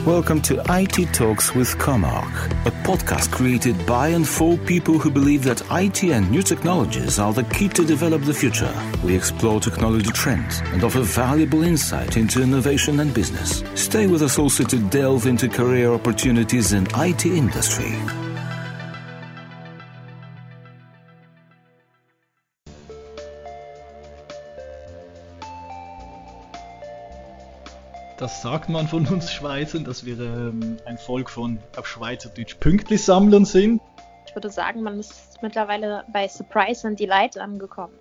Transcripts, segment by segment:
Welcome to IT Talks with Comarch, a podcast created by and for people who believe that IT and new technologies are the key to develop the future. We explore technology trends and offer valuable insight into innovation and business. Stay with us also to delve into career opportunities in IT industry. Das sagt man von uns Schweizern, dass wir ein Volk von auf Schweizerdeutsch Pünktli-Sammlern sind. Ich würde sagen, man ist mittlerweile bei Surprise and Delight angekommen.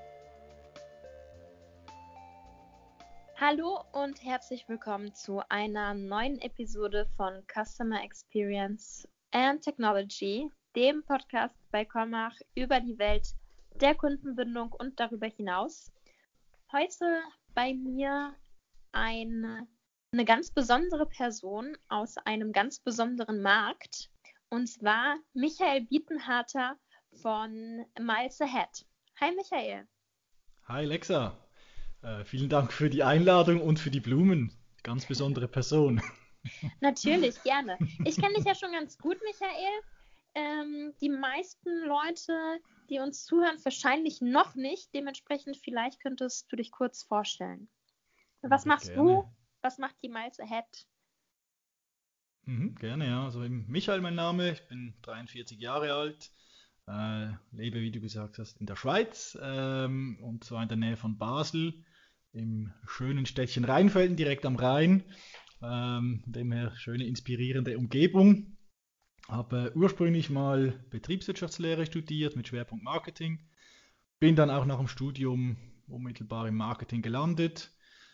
Hallo und herzlich willkommen zu einer neuen Episode von Customer Experience and Technology, dem Podcast bei Comarch über die Welt der Kundenbindung und darüber hinaus. Heute bei mir eine ganz besondere Person aus einem ganz besonderen Markt, und zwar Michael Bietenharter von Miles Ahead. Hi Michael. Hi Lexa, vielen Dank für die Einladung und für die Blumen. Ganz besondere Person. Natürlich, gerne. Ich kenne dich ja schon ganz gut, Michael. Die meisten Leute, die uns zuhören, wahrscheinlich noch nicht. Dementsprechend vielleicht könntest du dich kurz vorstellen. Was machst du? Was macht die Miles Ahead? Gerne, ja. Also Michael mein Name, ich bin 43 Jahre alt, lebe, wie du gesagt hast, in der Schweiz und zwar in der Nähe von Basel, im schönen Städtchen Rheinfelden, direkt am Rhein. Dem her schöne, inspirierende Umgebung. Habe ursprünglich mal Betriebswirtschaftslehre studiert mit Schwerpunkt Marketing. Bin dann auch nach dem Studium unmittelbar im Marketing gelandet.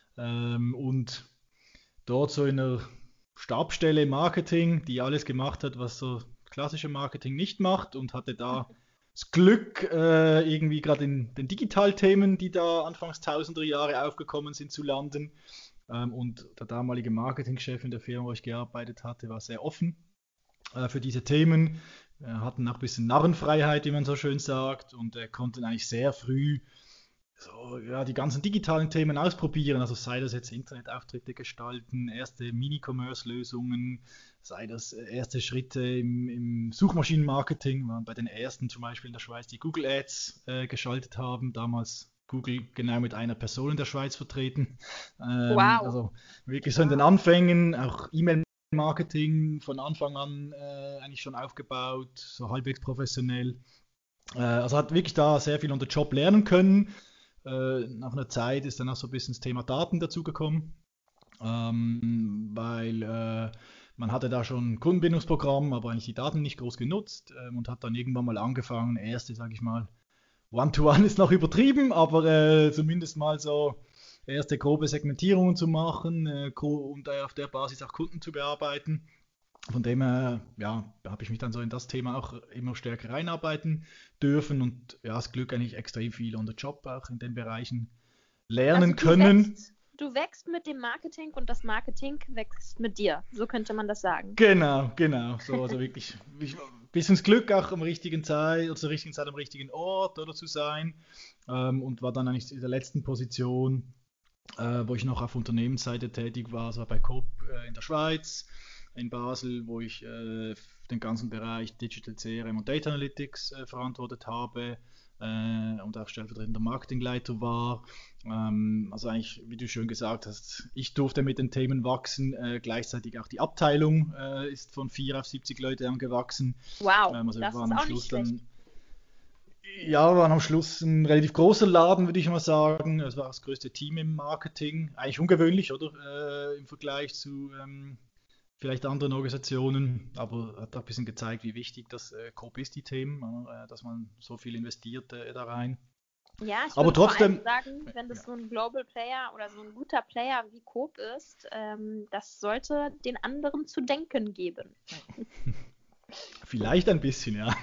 Und dort so in einer Stabsstelle im Marketing, die alles gemacht hat, was so klassische Marketing nicht macht, und hatte da das Glück, irgendwie gerade in den Digitalthemen, die da anfangs tausender Jahre aufgekommen sind, zu landen. Und der damalige Marketingchef in der Firma, wo ich gearbeitet hatte, war sehr offen für diese Themen. Hatten auch ein bisschen Narrenfreiheit, wie man so schön sagt, und konnten eigentlich sehr früh die ganzen digitalen Themen ausprobieren, also sei das jetzt Internetauftritte gestalten, erste Mini-Commerce-Lösungen, sei das erste Schritte im Suchmaschinenmarketing, waren bei den ersten zum Beispiel in der Schweiz, die Google Ads geschaltet haben, damals Google genau mit einer Person in der Schweiz vertreten. Wow. Also wirklich so in den Anfängen, auch E-Mail-Marketing von Anfang an eigentlich schon aufgebaut, so halbwegs professionell. Also hat wirklich da sehr viel on the job lernen können. Nach einer Zeit ist dann auch so ein bisschen das Thema Daten dazugekommen, weil man hatte da schon ein Kundenbindungsprogramm, aber eigentlich die Daten nicht groß genutzt, und hat dann irgendwann mal angefangen, erste, sage ich mal, One-to-One ist noch übertrieben, aber zumindest mal so erste grobe Segmentierungen zu machen und auf der Basis auch Kunden zu bearbeiten. Von dem her, habe ich mich dann so in das Thema auch immer stärker reinarbeiten dürfen und das Glück eigentlich extrem viel on the job auch in den Bereichen lernen können. Du wächst mit dem Marketing und das Marketing wächst mit dir. So könnte man das sagen. Genau. So, also wirklich ein bisschen das Glück auch zur richtigen Zeit am richtigen Ort oder zu sein, und war dann eigentlich in der letzten Position, wo ich noch auf Unternehmensseite tätig war, also bei Coop in der Schweiz, in Basel, wo ich den ganzen Bereich Digital CRM und Data Analytics verantwortet habe und auch stellvertretender Marketingleiter war. Also eigentlich, wie du schön gesagt hast, ich durfte mit den Themen wachsen, gleichzeitig auch die Abteilung ist von 4 auf 70 Leute angewachsen. Wow, also das wir ist auch nicht schlecht. Wir waren am Schluss ein relativ großer Laden, würde ich mal sagen. Es war das größte Team im Marketing. Eigentlich ungewöhnlich, oder? Im Vergleich zu vielleicht anderen Organisationen, aber hat auch ein bisschen gezeigt, wie wichtig das Coop ist, die Themen, dass man so viel investiert da rein. Ja, ich aber würde trotzdem vor allem sagen, wenn das so ein Global Player oder so ein guter Player wie Coop ist, das sollte den anderen zu denken geben. Vielleicht ein bisschen, ja.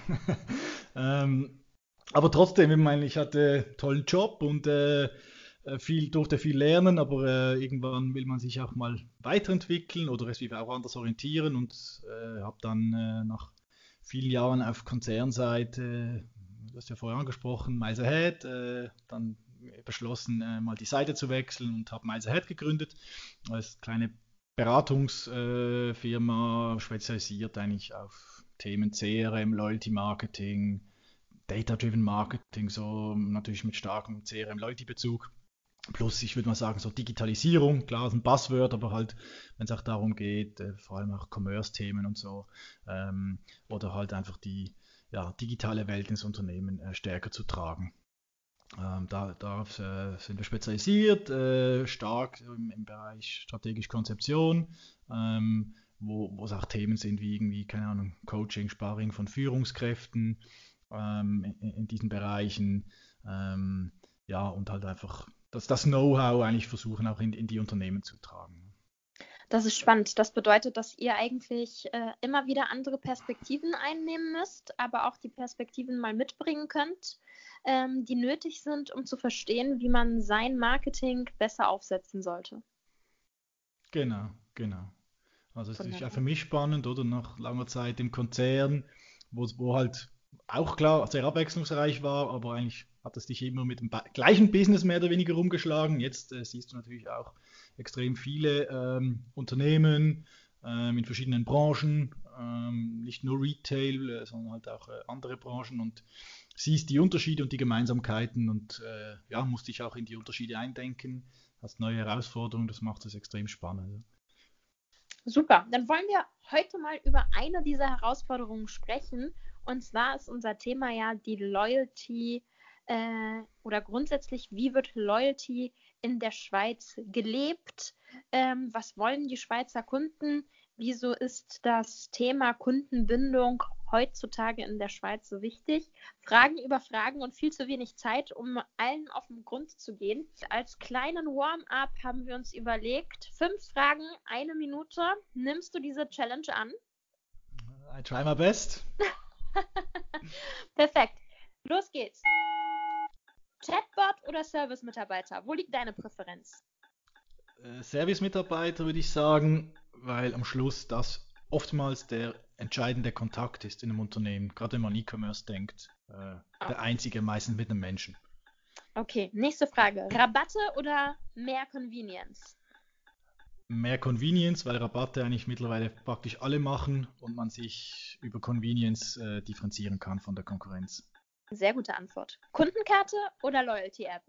Aber trotzdem, ich meine, ich hatte einen tollen Job und durfte viel lernen, aber irgendwann will man sich auch mal weiterentwickeln oder es auch anders orientieren, und habe dann nach vielen Jahren auf Konzernseite, du hast ja vorher angesprochen, Miles Ahead, dann beschlossen, mal die Seite zu wechseln und habe Miles Ahead gegründet als kleine Beratungsfirma, spezialisiert eigentlich auf Themen CRM, Loyalty Marketing, Data-Driven Marketing, so natürlich mit starkem CRM-Loyalty-Bezug. Plus, ich würde mal sagen, so Digitalisierung, klar, ist ein Buzzword, aber halt, wenn es auch darum geht, vor allem auch Commerce-Themen und so, oder halt einfach die digitale Welt ins Unternehmen stärker zu tragen. Darauf sind wir spezialisiert, stark im Bereich strategische Konzeption, wo es auch Themen sind wie irgendwie, keine Ahnung, Coaching, Sparring von Führungskräften in diesen Bereichen, und halt einfach das Know-how eigentlich versuchen auch in die Unternehmen zu tragen. Das ist spannend. Das bedeutet, dass ihr eigentlich immer wieder andere Perspektiven einnehmen müsst, aber auch die Perspektiven mal mitbringen könnt, die nötig sind, um zu verstehen, wie man sein Marketing besser aufsetzen sollte. Genau. Also es ist ja für mich spannend, oder nach langer Zeit im Konzern, wo halt auch klar sehr abwechslungsreich war, aber eigentlich hat es dich immer mit dem gleichen Business mehr oder weniger rumgeschlagen. Jetzt siehst du natürlich auch extrem viele Unternehmen in verschiedenen Branchen, nicht nur Retail, sondern halt auch andere Branchen und siehst die Unterschiede und die Gemeinsamkeiten und musst dich auch in die Unterschiede eindenken, hast neue Herausforderungen, das macht es extrem spannend. Super, dann wollen wir heute mal über eine dieser Herausforderungen sprechen. Und zwar ist unser Thema ja die Loyalty oder grundsätzlich, wie wird Loyalty in der Schweiz gelebt? Was wollen die Schweizer Kunden? Wieso ist das Thema Kundenbindung heutzutage in der Schweiz so wichtig? Fragen über Fragen und viel zu wenig Zeit, um allen auf den Grund zu gehen. Als kleinen Warm-up haben wir uns überlegt, 5 Fragen, 1 Minute. Nimmst du diese Challenge an? I try my best. Perfekt. Los geht's. Chatbot oder Service-Mitarbeiter? Wo liegt deine Präferenz? Service-Mitarbeiter würde ich sagen, weil am Schluss das oftmals der entscheidende Kontakt ist in einem Unternehmen, gerade wenn man E-Commerce denkt, der einzige meistens mit einem Menschen. Okay, nächste Frage. Rabatte oder mehr Convenience? Mehr Convenience, weil Rabatte eigentlich mittlerweile praktisch alle machen und man sich über Convenience differenzieren kann von der Konkurrenz. Sehr gute Antwort. Kundenkarte oder Loyalty-App?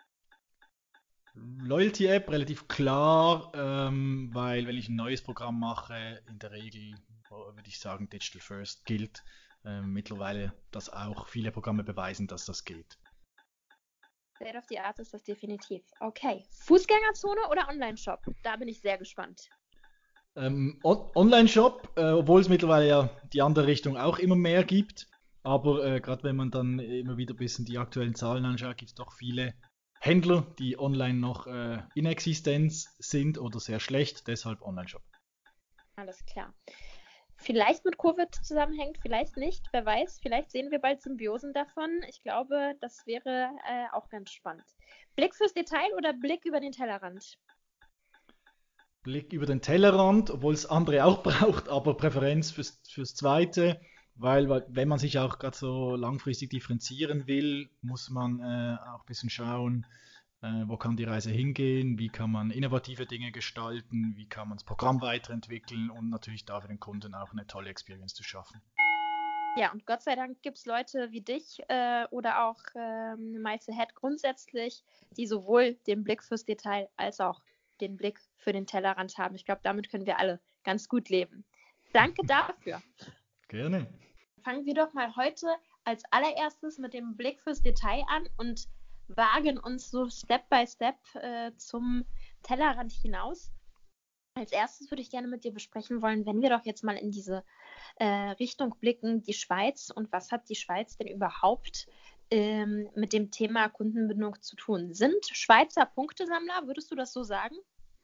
Loyalty-App relativ klar, weil wenn ich ein neues Programm mache, in der Regel würde ich sagen Digital First gilt. Mittlerweile, dass auch viele Programme beweisen, dass das geht. State of the Art ist das definitiv. Okay. Fußgängerzone oder Online-Shop? Da bin ich sehr gespannt. Online-Shop, obwohl es mittlerweile ja die andere Richtung auch immer mehr gibt. Aber gerade wenn man dann immer wieder ein bisschen die aktuellen Zahlen anschaut, gibt es doch viele Händler, die online noch inexistent sind oder sehr schlecht, deshalb Online-Shop. Alles klar. Vielleicht mit Covid zusammenhängt, vielleicht nicht, wer weiß. Vielleicht sehen wir bald Symbiosen davon. Ich glaube, das wäre auch ganz spannend. Blick fürs Detail oder Blick über den Tellerrand? Blick über den Tellerrand, obwohl es andere auch braucht, aber Präferenz fürs Zweite, weil wenn man sich auch gerade so langfristig differenzieren will, muss man auch ein bisschen schauen, wo kann die Reise hingehen, wie kann man innovative Dinge gestalten, wie kann man das Programm weiterentwickeln und natürlich da für den Kunden auch eine tolle Experience zu schaffen. Ja, und Gott sei Dank gibt es Leute wie dich oder auch Miles Ahead grundsätzlich, die sowohl den Blick fürs Detail als auch den Blick für den Tellerrand haben. Ich glaube, damit können wir alle ganz gut leben. Danke dafür. Gerne. Fangen wir doch mal heute als allererstes mit dem Blick fürs Detail an und wagen uns so Step by Step zum Tellerrand hinaus. Als erstes würde ich gerne mit dir besprechen wollen, wenn wir doch jetzt mal in diese Richtung blicken, die Schweiz und was hat die Schweiz denn überhaupt mit dem Thema Kundenbindung zu tun? Sind Schweizer Punktesammler, würdest du das so sagen?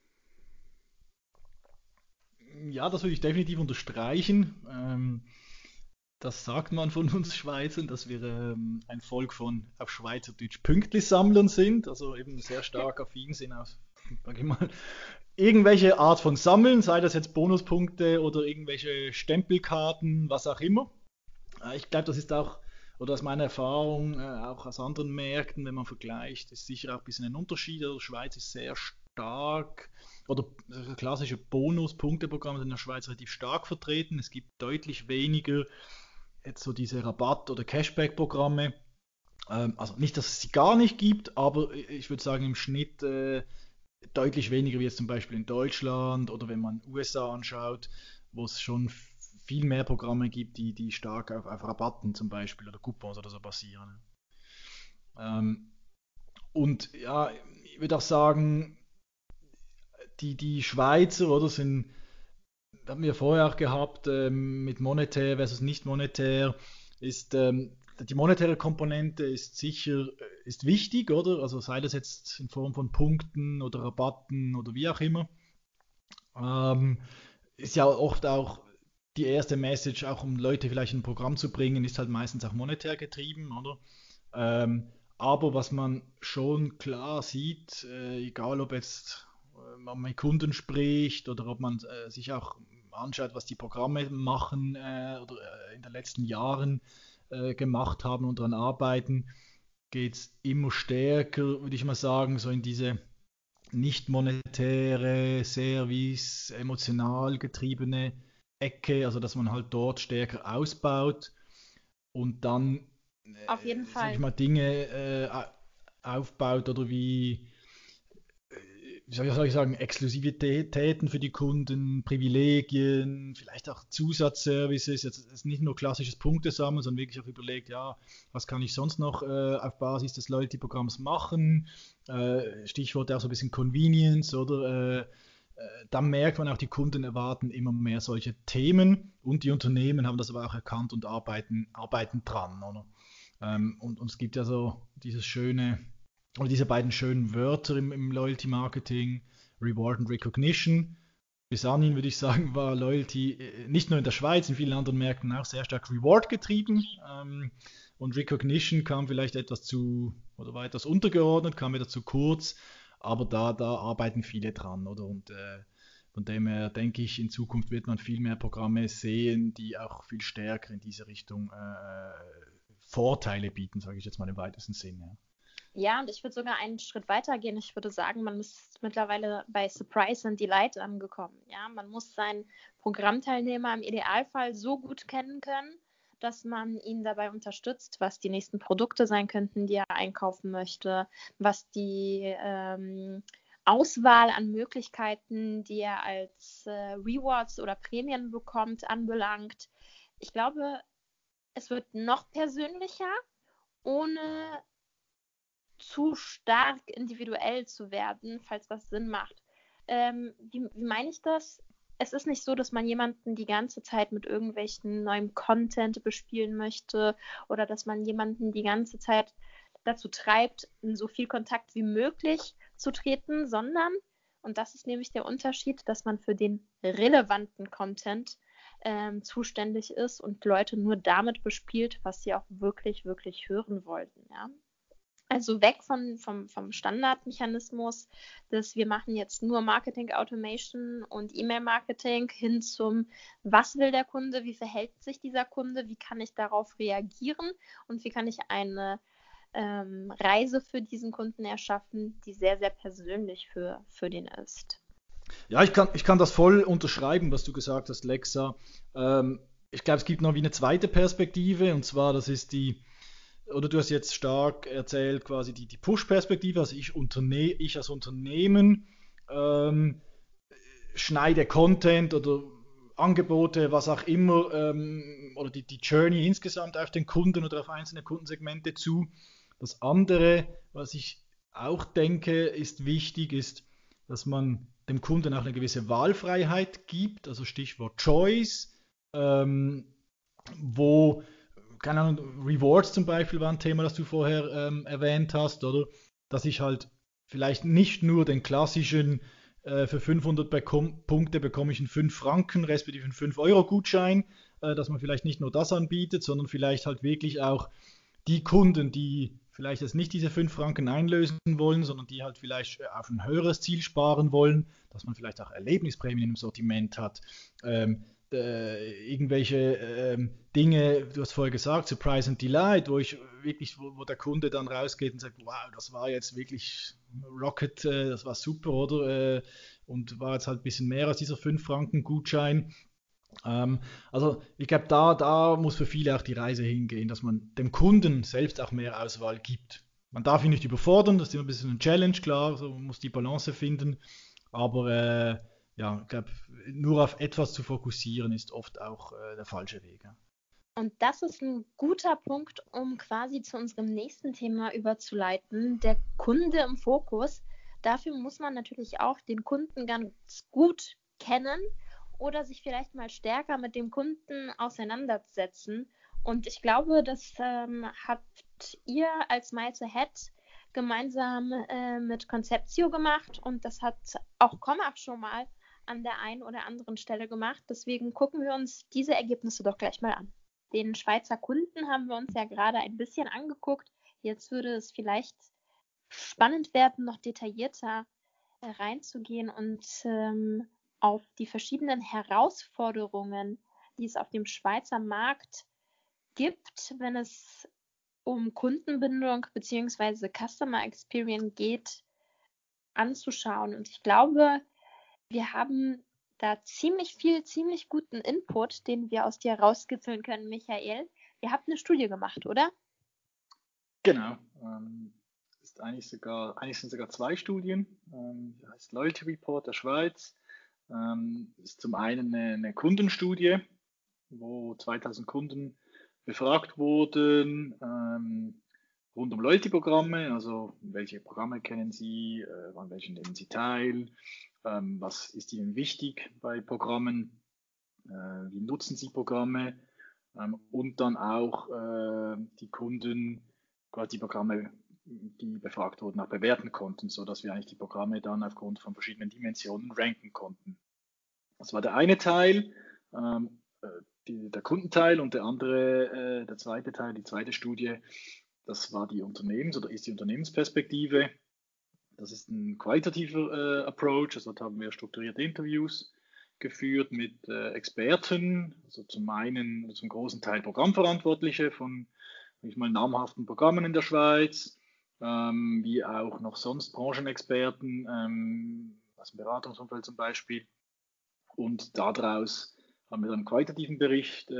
Ja, das würde ich definitiv unterstreichen. Das sagt man von uns Schweizern, dass wir ein Volk von auf Schweizerdeutsch Pünktlisammlern sind, also eben sehr stark affin sind auf, sag ich mal, irgendwelche Art von Sammeln, sei das jetzt Bonuspunkte oder irgendwelche Stempelkarten, was auch immer. Ich glaube, das ist auch, oder aus meiner Erfahrung, auch aus anderen Märkten, wenn man vergleicht, ist sicher auch ein bisschen ein Unterschied. Die Schweiz ist sehr stark oder klassische Bonus-Punkteprogramme sind in der Schweiz relativ stark vertreten. Es gibt deutlich weniger jetzt so diese Rabatt- oder Cashback-Programme. Also nicht, dass es sie gar nicht gibt, aber ich würde sagen im Schnitt deutlich weniger wie jetzt zum Beispiel in Deutschland oder wenn man USA anschaut, wo es schon viel mehr Programme gibt, die stark auf Rabatten zum Beispiel oder Coupons oder so basieren. Und ja, ich würde auch sagen, die Schweizer, oder, haben wir vorher auch gehabt, mit monetär versus nicht monetär, ist die monetäre Komponente ist sicher ist wichtig, oder? Also sei das jetzt in Form von Punkten oder Rabatten oder wie auch immer. Ist ja oft auch die erste Message, auch um Leute vielleicht in ein Programm zu bringen, ist halt meistens auch monetär getrieben, oder? Aber was man schon klar sieht, egal ob jetzt man mit Kunden spricht oder ob man sich auch anschaut, was die Programme machen oder in den letzten Jahren gemacht haben und daran arbeiten, geht es immer stärker, würde ich mal sagen, so in diese nicht monetäre, Service, emotional getriebene Ecke, also dass man halt dort stärker ausbaut und dann Auf jeden sag Fall. ich mal, Dinge aufbaut oder wie soll ich sagen, Exklusivitäten für die Kunden, Privilegien, vielleicht auch Zusatzservices. Jetzt ist nicht nur klassisches Punktesammeln, sondern wirklich auch überlegt, ja, was kann ich sonst noch auf Basis des Loyalty-Programms machen? Stichwort auch so ein bisschen Convenience, oder? Da merkt man auch, die Kunden erwarten immer mehr solche Themen und die Unternehmen haben das aber auch erkannt und arbeiten dran, oder? Und es gibt ja so dieses schöne oder diese beiden schönen Wörter im Loyalty-Marketing, Reward und Recognition. Bis anhin würde ich sagen, war Loyalty nicht nur in der Schweiz, in vielen anderen Märkten auch sehr stark Reward getrieben. Und Recognition kam vielleicht etwas zu, oder war etwas untergeordnet, kam wieder zu kurz, aber da arbeiten viele dran, oder? Und von dem her denke ich, in Zukunft wird man viel mehr Programme sehen, die auch viel stärker in diese Richtung Vorteile bieten, sage ich jetzt mal im weitesten Sinn. Ja. Ja, und ich würde sogar einen Schritt weiter gehen. Ich würde sagen, man ist mittlerweile bei Surprise and Delight angekommen. Ja, man muss seinen Programmteilnehmer im Idealfall so gut kennen können, dass man ihn dabei unterstützt, was die nächsten Produkte sein könnten, die er einkaufen möchte, was die Auswahl an Möglichkeiten, die er als Rewards oder Prämien bekommt, anbelangt. Ich glaube, es wird noch persönlicher, ohne zu stark individuell zu werden, falls das Sinn macht. Wie meine ich das? Es ist nicht so, dass man jemanden die ganze Zeit mit irgendwelchen neuen Content bespielen möchte oder dass man jemanden die ganze Zeit dazu treibt, in so viel Kontakt wie möglich zu treten, sondern, und das ist nämlich der Unterschied, dass man für den relevanten Content zuständig ist und Leute nur damit bespielt, was sie auch wirklich, wirklich hören wollten. Ja? Also weg vom Standardmechanismus, dass wir machen jetzt nur Marketing Automation und E-Mail-Marketing hin zum, was will der Kunde, wie verhält sich dieser Kunde, wie kann ich darauf reagieren und wie kann ich eine Reise für diesen Kunden erschaffen, die sehr, sehr persönlich für den ist. Ja, ich kann das voll unterschreiben, was du gesagt hast, Lexa. Ich glaube, es gibt noch wie eine zweite Perspektive, und zwar, das ist oder du hast jetzt stark erzählt, quasi die Push-Perspektive, also ich als Unternehmen schneide Content oder Angebote, was auch immer, oder die Journey insgesamt auf den Kunden oder auf einzelne Kundensegmente zu. Das andere, was ich auch denke, ist wichtig, ist, dass man dem Kunden auch eine gewisse Wahlfreiheit gibt, also Stichwort Choice, wo, keine Ahnung, Rewards zum Beispiel war ein Thema, das du vorher erwähnt hast, oder? Dass ich halt vielleicht nicht nur den klassischen für 500 Punkte bekomme ich einen 5 Franken, respektive einen 5-Euro-Gutschein, dass man vielleicht nicht nur das anbietet, sondern vielleicht halt wirklich auch die Kunden, die vielleicht jetzt nicht diese 5 Franken einlösen wollen, sondern die halt vielleicht auf ein höheres Ziel sparen wollen, dass man vielleicht auch Erlebnisprämien im Sortiment hat, irgendwelche Dinge, du hast vorher gesagt, Surprise and Delight, wo der Kunde dann rausgeht und sagt, wow, das war jetzt wirklich Rocket, das war super, oder? und war jetzt halt ein bisschen mehr als dieser 5 Franken Gutschein. Also ich glaube, da muss für viele auch die Reise hingehen, dass man dem Kunden selbst auch mehr Auswahl gibt. Man darf ihn nicht überfordern, das ist immer ein bisschen eine Challenge, klar, so, man muss die Balance finden, aber ja, ich glaube, nur auf etwas zu fokussieren ist oft auch der falsche Weg. Ja. Und das ist ein guter Punkt, um quasi zu unserem nächsten Thema überzuleiten, der Kunde im Fokus. Dafür muss man natürlich auch den Kunden ganz gut kennen oder sich vielleicht mal stärker mit dem Kunden auseinandersetzen. Und ich glaube, das habt ihr als Miles Ahead gemeinsam mit Conceptio gemacht und das hat auch Commach schon mal an der einen oder anderen Stelle gemacht. Deswegen gucken wir uns diese Ergebnisse doch gleich mal an. Den Schweizer Kunden haben wir uns ja gerade ein bisschen angeguckt. Jetzt würde es vielleicht spannend werden, noch detaillierter reinzugehen und auf die verschiedenen Herausforderungen, die es auf dem Schweizer Markt gibt, wenn es um Kundenbindung bzw. Customer Experience geht, anzuschauen. Und ich glaube, wir haben da ziemlich guten Input, den wir aus dir rauskitzeln können, Michael. Ihr habt eine Studie gemacht, oder? Genau. Eigentlich sind sogar 2 Studien. Die heißt Loyalty Report der Schweiz. Ist zum einen eine Kundenstudie, wo 2000 Kunden befragt wurden rund um Loyalty-Programme, also welche Programme kennen Sie, an welchen nehmen Sie teil, was ist Ihnen wichtig bei Programmen, wie nutzen Sie Programme und dann auch die Kunden quasi die Programme, die befragt wurden, auch bewerten konnten, sodass wir eigentlich die Programme dann aufgrund von verschiedenen Dimensionen ranken konnten. Das war der eine Teil, der Kundenteil, und der zweite Teil, die zweite Studie, das war die ist die Unternehmensperspektive. Das ist ein qualitativer Approach, also dort haben wir strukturierte Interviews geführt mit Experten, also zum großen Teil Programmverantwortliche von namhaften Programmen in der Schweiz, wie auch noch sonst Branchenexperten, aus dem Beratungsumfeld zum Beispiel. Und daraus haben wir dann einen qualitativen Bericht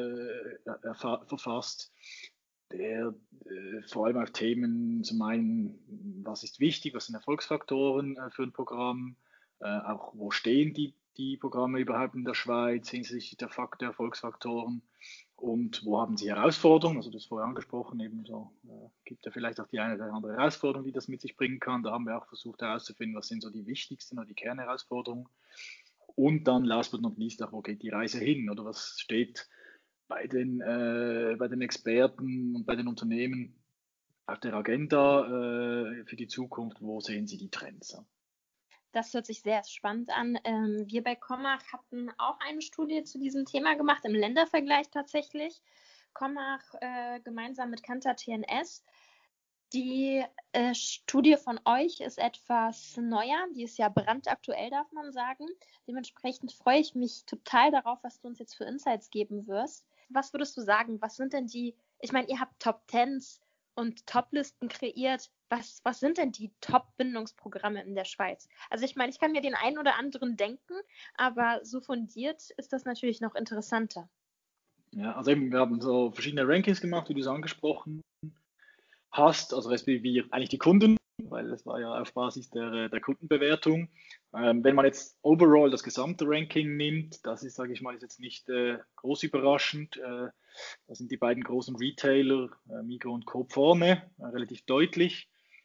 verfasst, der vor allem auf Themen zum einen, was ist wichtig, was sind Erfolgsfaktoren für ein Programm, auch wo stehen die Programme überhaupt in der Schweiz hinsichtlich der Erfolgsfaktoren und wo haben sie Herausforderungen, also das vorher angesprochen, ebenso gibt ja vielleicht auch die eine oder andere Herausforderung, die das mit sich bringen kann. Da haben wir auch versucht herauszufinden, was sind so die wichtigsten oder die Kernherausforderungen. Und dann, last but not least, auch, wo geht die Reise hin oder was steht bei den Experten und bei den Unternehmen auf der Agenda für die Zukunft, wo sehen Sie die Trends? Das hört sich sehr spannend an. Wir bei Commach hatten auch eine Studie zu diesem Thema gemacht, im Ländervergleich tatsächlich. Commach gemeinsam mit Kantar TNS. Die Studie von euch ist etwas neuer, die ist ja brandaktuell, darf man sagen. Dementsprechend freue ich mich total darauf, was du uns jetzt für Insights geben wirst. Was würdest du sagen, was sind denn ich meine, ihr habt Top 10s und Top-Listen kreiert. Was sind denn die Top-Bindungsprogramme in der Schweiz? Also ich meine, ich kann mir den einen oder anderen denken, aber so fundiert ist das natürlich noch interessanter. Ja, also eben, wir haben so verschiedene Rankings gemacht, wie du es angesprochen hast, also respektive eigentlich die Kunden, weil das war ja auf Basis der Kundenbewertung. Wenn man jetzt overall das gesamte Ranking nimmt, das ist, sage ich mal, ist jetzt nicht groß überraschend. Da sind die beiden großen Retailer, Migros und Coop, vorne, relativ deutlich,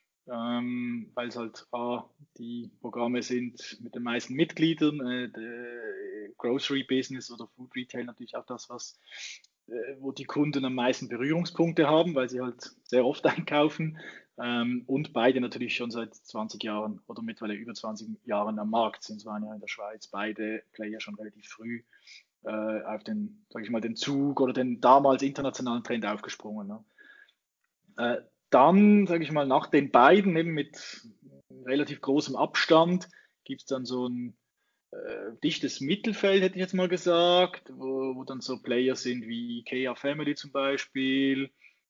weil es halt die Programme sind mit den meisten Mitgliedern, Grocery Business oder Food Retail natürlich auch das, wo die Kunden am meisten Berührungspunkte haben, weil sie halt sehr oft einkaufen, und beide natürlich schon seit 20 Jahren oder mittlerweile über 20 Jahren am Markt sind. Es waren ja in der Schweiz beide Player schon relativ früh auf den, sage ich mal, den Zug oder den damals internationalen Trend aufgesprungen. Ne? Dann, sage ich mal, nach den beiden eben mit relativ großem Abstand gibt es dann so ein dichtes Mittelfeld, hätte ich jetzt mal gesagt, wo dann so Player sind wie IKEA Family zum Beispiel,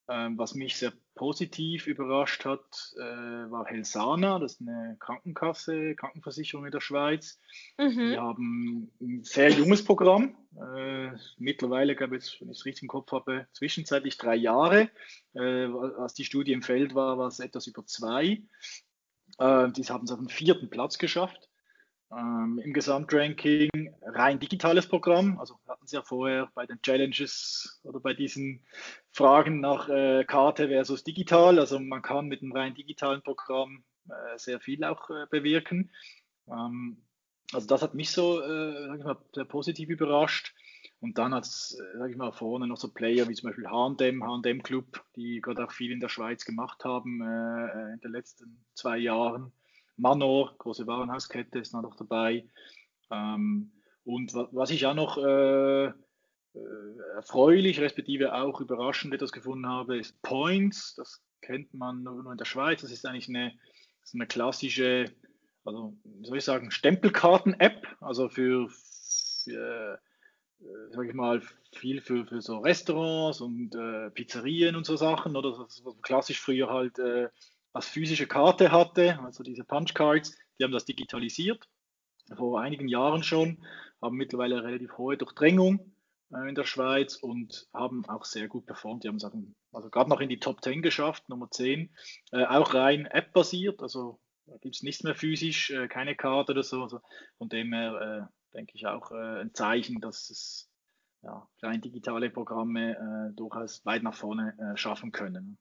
Was mich sehr positiv überrascht hat, war Helsana, das ist eine Krankenversicherung in der Schweiz. Die Mhm. haben ein sehr junges Programm, mittlerweile, glaube ich, wenn ich es richtig im Kopf habe, zwischenzeitlich 3 Jahre. Als die Studie im Feld war, war es etwas über 2. Die haben es auf den 4. Platz geschafft. Im Gesamtranking rein digitales Programm. Also hatten Sie ja vorher bei den Challenges oder bei diesen Fragen nach Karte versus digital. Also man kann mit einem rein digitalen Programm sehr viel auch bewirken. Also das hat mich so, sag ich mal, sehr positiv überrascht. Und dann hat es, sag ich mal, vorne noch so Player wie zum Beispiel H&M Club, die gerade auch viel in der Schweiz gemacht haben in den letzten 2 Jahren. Manor, große Warenhauskette, ist noch dabei. Und was ich auch noch erfreulich, respektive auch überraschend etwas gefunden habe, ist Points. Das kennt man nur in der Schweiz. Das ist eigentlich so eine klassische, also wie soll ich sagen, Stempelkarten-App, also für sag ich mal, viel für so Restaurants und Pizzerien und so Sachen, oder was man klassisch früher halt als physische Karte hatte, also diese Punchcards, die haben das digitalisiert, vor einigen Jahren schon, haben mittlerweile eine relativ hohe Durchdringung in der Schweiz und haben auch sehr gut performt. Die haben es also gerade noch in die Top 10 geschafft, Nummer 10, auch rein App-basiert, also da gibt es nichts mehr physisch, keine Karte oder so. Also von dem her denke ich auch ein Zeichen, dass es ja, rein digitale Programme durchaus weit nach vorne schaffen können.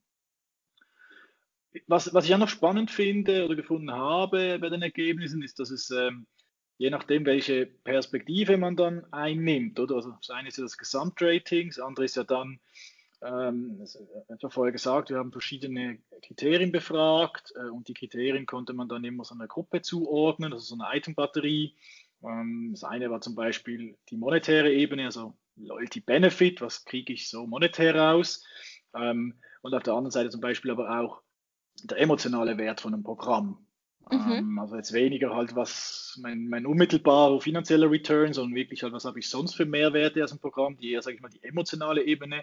Was ich auch noch spannend finde oder gefunden habe bei den Ergebnissen, ist, dass es je nachdem, welche Perspektive man dann einnimmt, oder? Also das eine ist ja das Gesamtrating, das andere ist ja dann, das hat ja vorher gesagt, wir haben verschiedene Kriterien befragt und die Kriterien konnte man dann immer so einer Gruppe zuordnen, also so eine Item-Batterie. Das eine war zum Beispiel die monetäre Ebene, also Loyalty Benefit, was kriege ich so monetär raus? Und auf der anderen Seite zum Beispiel aber auch der emotionale Wert von einem Programm. Mhm. Also jetzt weniger halt was mein unmittelbarer finanzieller Return, sondern wirklich halt, was habe ich sonst für Mehrwerte aus dem Programm, die eher, sage ich mal, die emotionale Ebene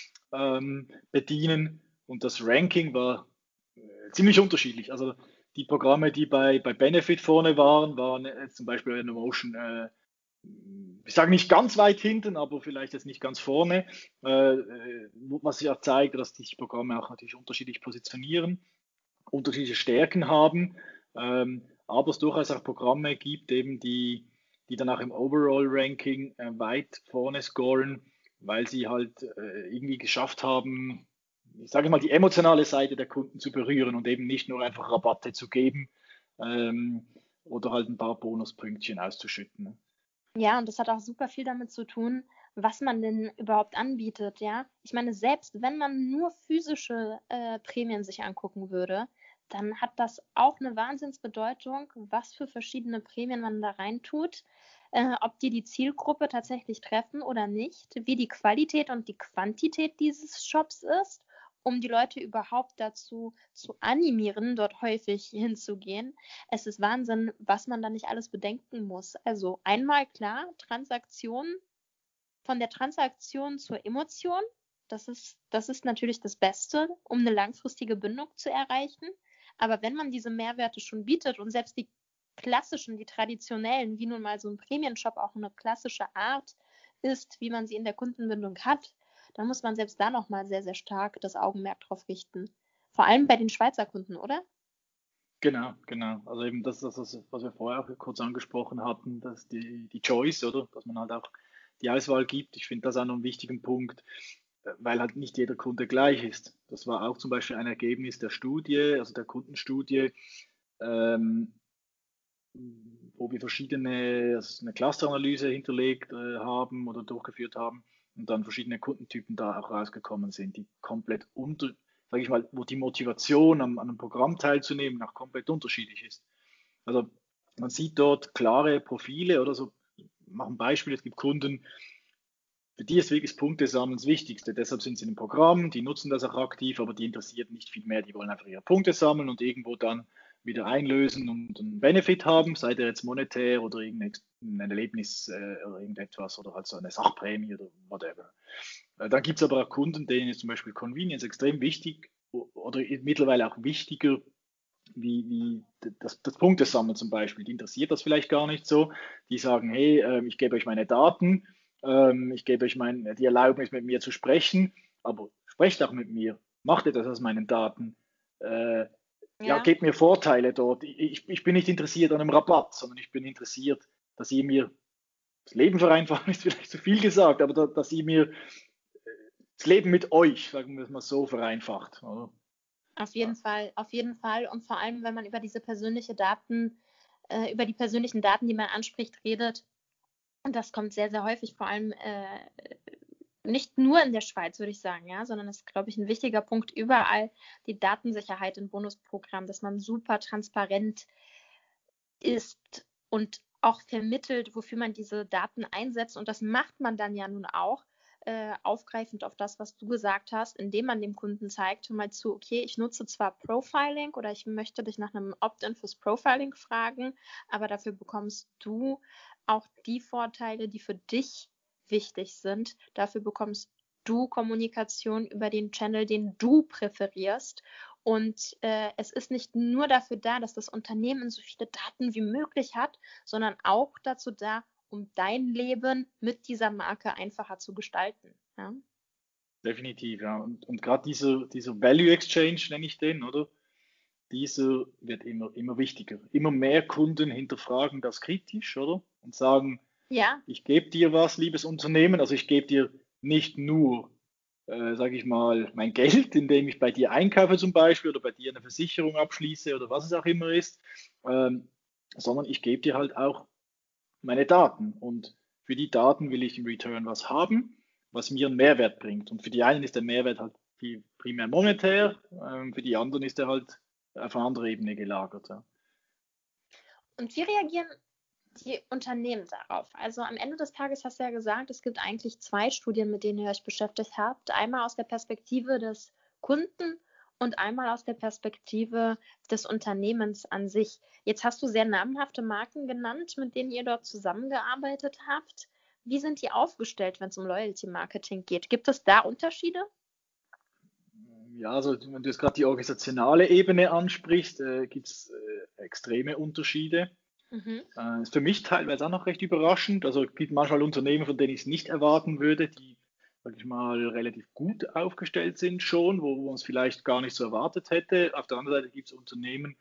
bedienen. Und das Ranking war ziemlich unterschiedlich. Also die Programme, die bei Benefit vorne waren jetzt zum Beispiel in Notion, ich sage nicht ganz weit hinten, aber vielleicht jetzt nicht ganz vorne, was ja zeigt, dass die Programme auch natürlich unterschiedlich positionieren, unterschiedliche Stärken haben, aber es durchaus auch Programme gibt, eben die dann auch im Overall-Ranking weit vorne scoren, weil sie halt irgendwie geschafft haben, ich sage mal, die emotionale Seite der Kunden zu berühren und eben nicht nur einfach Rabatte zu geben oder halt ein paar Bonuspünktchen auszuschütten. Ne? Ja, und das hat auch super viel damit zu tun, was man denn überhaupt anbietet, ja. Ich meine, selbst wenn man nur physische Prämien sich angucken würde, dann hat das auch eine Wahnsinnsbedeutung, was für verschiedene Prämien man da reintut, ob die Zielgruppe tatsächlich treffen oder nicht, wie die Qualität und die Quantität dieses Shops ist, um die Leute überhaupt dazu zu animieren, dort häufig hinzugehen. Es ist Wahnsinn, was man da nicht alles bedenken muss. Also einmal klar, Transaktion, von der Transaktion zur Emotion. Das ist natürlich das Beste, um eine langfristige Bindung zu erreichen. Aber wenn man diese Mehrwerte schon bietet und selbst die klassischen, die traditionellen, wie nun mal so ein Prämienshop auch eine klassische Art ist, wie man sie in der Kundenbindung hat, dann muss man selbst da nochmal sehr, sehr stark das Augenmerk drauf richten. Vor allem bei den Schweizer Kunden, oder? Genau, genau. Also eben das, was wir vorher auch kurz angesprochen hatten, dass die Choice, oder? Dass man halt auch die Auswahl gibt. Ich finde das auch noch einen wichtigen Punkt, weil halt nicht jeder Kunde gleich ist. Das war auch zum Beispiel ein Ergebnis der Studie, also der Kundenstudie, ähm, wo wir eine Clusteranalyse hinterlegt haben oder durchgeführt haben und dann verschiedene Kundentypen da auch rausgekommen sind, die komplett sage ich mal, wo die Motivation an einem Programm teilzunehmen auch komplett unterschiedlich ist. Also man sieht dort klare Profile oder so. Ich mache ein Beispiel, es gibt Kunden, für die ist wirklich Punktesammeln das Wichtigste. Deshalb sind sie in einem Programm, die nutzen das auch aktiv, aber die interessiert nicht viel mehr. Die wollen einfach ihre Punkte sammeln und irgendwo dann wieder einlösen und einen Benefit haben, sei der jetzt monetär oder irgendein Erlebnis oder irgendetwas oder halt so eine Sachprämie oder whatever. Dann gibt es aber auch Kunden, denen ist zum Beispiel Convenience extrem wichtig oder mittlerweile auch wichtiger wie das Punktesammeln zum Beispiel. Die interessiert das vielleicht gar nicht so. Die sagen, hey, ich gebe euch meine Daten, ich gebe euch die Erlaubnis, mit mir zu sprechen, aber sprecht auch mit mir, macht etwas aus meinen Daten. Ja, gebt mir Vorteile dort. Ich bin nicht interessiert an einem Rabatt, sondern ich bin interessiert, dass ihr mir das Leben vereinfachen, ist vielleicht zu viel gesagt, aber dass ihr mir das Leben mit euch, sagen wir es mal so, vereinfacht. Oder? Auf jeden Fall. Und vor allem, wenn man über diese persönlichen Daten, die man anspricht, redet, und das kommt sehr, sehr häufig, vor allem nicht nur in der Schweiz, würde ich sagen, ja, sondern das ist, glaube ich, ein wichtiger Punkt überall, die Datensicherheit im Bonusprogramm, dass man super transparent ist und auch vermittelt, wofür man diese Daten einsetzt. Und das macht man dann ja nun auch, aufgreifend auf das, was du gesagt hast, indem man dem Kunden zeigt, hör mal zu, okay, ich nutze zwar Profiling oder ich möchte dich nach einem Opt-in fürs Profiling fragen, aber dafür bekommst du auch die Vorteile, die für dich wichtig sind. Dafür bekommst du Kommunikation über den Channel, den du präferierst. Und es ist nicht nur dafür da, dass das Unternehmen so viele Daten wie möglich hat, sondern auch dazu da, um dein Leben mit dieser Marke einfacher zu gestalten. Ja? Definitiv, ja. Und gerade dieser Value Exchange, nenne ich den, oder? Dieser wird immer wichtiger. Immer mehr Kunden hinterfragen das kritisch, oder? Und sagen, ja, ich gebe dir was, liebes Unternehmen, also ich gebe dir nicht nur, sage ich mal, mein Geld, indem ich bei dir einkaufe zum Beispiel oder bei dir eine Versicherung abschließe oder was es auch immer ist, sondern ich gebe dir halt auch meine Daten. Und für die Daten will ich im Return was haben, was mir einen Mehrwert bringt. Und für die einen ist der Mehrwert halt primär monetär, für die anderen ist er halt auf eine andere Ebene gelagert. Ja. Und wie reagieren die Unternehmen darauf? Also am Ende des Tages hast du ja gesagt, es gibt eigentlich 2 Studien, mit denen ihr euch beschäftigt habt. Einmal aus der Perspektive des Kunden und einmal aus der Perspektive des Unternehmens an sich. Jetzt hast du sehr namhafte Marken genannt, mit denen ihr dort zusammengearbeitet habt. Wie sind die aufgestellt, wenn es um Loyalty-Marketing geht? Gibt es da Unterschiede? Ja, also wenn du jetzt gerade die organisationale Ebene ansprichst, gibt es extreme Unterschiede. Ist für mich teilweise auch noch recht überraschend. Also es gibt manchmal Unternehmen, von denen ich es nicht erwarten würde, die, sag ich mal, relativ gut aufgestellt sind schon, wo man es vielleicht gar nicht so erwartet hätte. Auf der anderen Seite gibt es Unternehmen,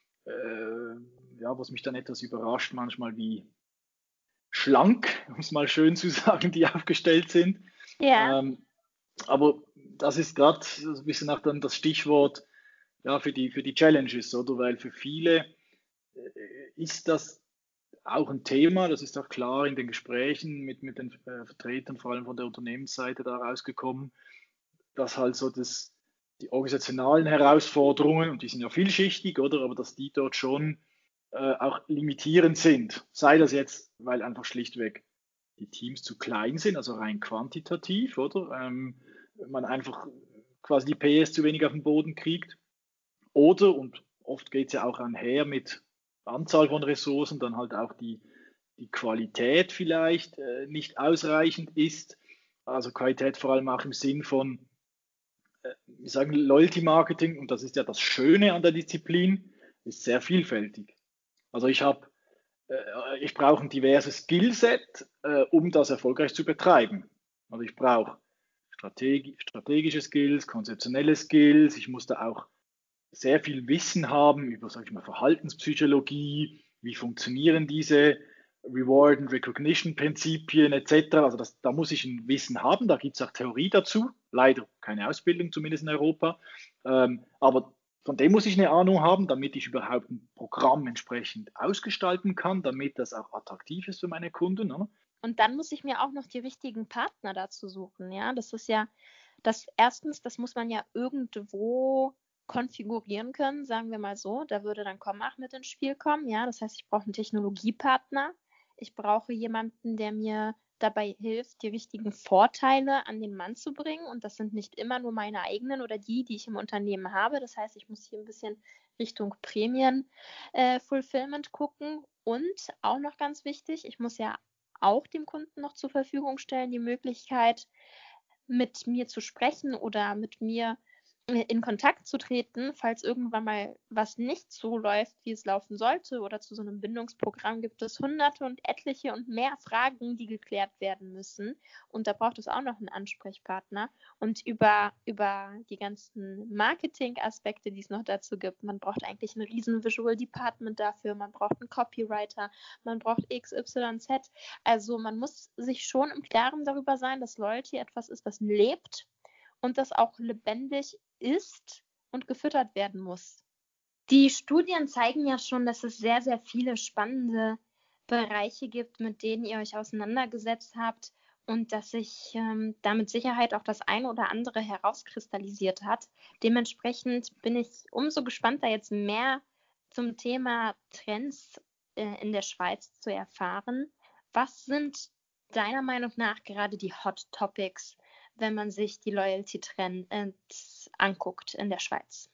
ja, was mich dann etwas überrascht, manchmal wie schlank, um es mal schön zu sagen, die aufgestellt sind. Ja. Aber das ist gerade so ein bisschen auch dann das Stichwort ja, für die Challenges, oder? Weil für viele ist das auch ein Thema, das ist auch klar in den Gesprächen mit den Vertretern, vor allem von der Unternehmensseite da rausgekommen, dass halt so die organisationalen Herausforderungen, und die sind ja vielschichtig, oder? Aber dass die dort schon auch limitierend sind. Sei das jetzt, weil einfach schlichtweg die Teams zu klein sind, also rein quantitativ, oder? Man einfach quasi die PS zu wenig auf den Boden kriegt. Oder, und oft geht es ja auch einher mit Anzahl von Ressourcen, dann halt auch die Qualität vielleicht nicht ausreichend ist. Also Qualität vor allem auch im Sinn von, wir sagen Loyalty Marketing, und das ist ja das Schöne an der Disziplin, ist sehr vielfältig. Also ich brauche ein diverses Skillset, um das erfolgreich zu betreiben. Also ich brauche strategische Skills, konzeptionelle Skills, ich muss da auch sehr viel Wissen haben über, sag ich mal, Verhaltenspsychologie, wie funktionieren diese Reward and Recognition Prinzipien etc. Also da muss ich ein Wissen haben, da gibt es auch Theorie dazu, leider keine Ausbildung, zumindest in Europa, aber von dem muss ich eine Ahnung haben, damit ich überhaupt ein Programm entsprechend ausgestalten kann, damit das auch attraktiv ist für meine Kunden. Ne? Und dann muss ich mir auch noch die richtigen Partner dazu suchen. Ja, das ist ja das muss man ja irgendwo konfigurieren können, sagen wir mal so. Da würde dann Commach mit ins Spiel kommen. Ja, das heißt, ich brauche einen Technologiepartner. Ich brauche jemanden, der mir dabei hilft, die richtigen Vorteile an den Mann zu bringen. Und das sind nicht immer nur meine eigenen oder die ich im Unternehmen habe. Das heißt, ich muss hier ein bisschen Richtung Prämien-Fulfillment gucken. Und auch noch ganz wichtig, ich muss ja auch dem Kunden noch zur Verfügung stellen, die Möglichkeit, mit mir zu sprechen oder mit mir in Kontakt zu treten, falls irgendwann mal was nicht so läuft, wie es laufen sollte, oder zu so einem Bindungsprogramm gibt es hunderte und etliche und mehr Fragen, die geklärt werden müssen. Und da braucht es auch noch einen Ansprechpartner. Und über die ganzen Marketing-Aspekte, die es noch dazu gibt, man braucht eigentlich ein riesen Visual Department dafür, man braucht einen Copywriter, man braucht XYZ. Also man muss sich schon im Klaren darüber sein, dass Loyalty etwas ist, das lebt und das auch lebendig ist und gefüttert werden muss. Die Studien zeigen ja schon, dass es sehr, sehr viele spannende Bereiche gibt, mit denen ihr euch auseinandergesetzt habt und dass sich da mit Sicherheit auch das eine oder andere herauskristallisiert hat. Dementsprechend bin ich umso gespannter, jetzt mehr zum Thema Trends in der Schweiz zu erfahren. Was sind deiner Meinung nach gerade die Hot Topics, wenn man sich die Loyalty-Trends anguckt in der Schweiz?